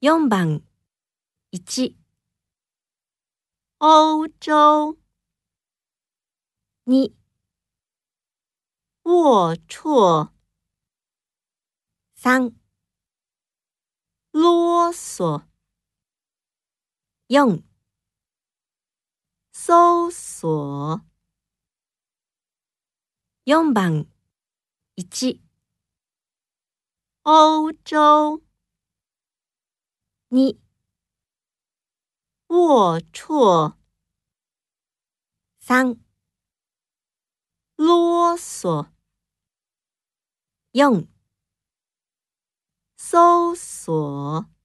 4番1、 欧洲 2、 龌龊 3、 啰嗦 4、 搜索 4番1、 欧洲 2、 龌龊 3、 啰嗦 4、 搜索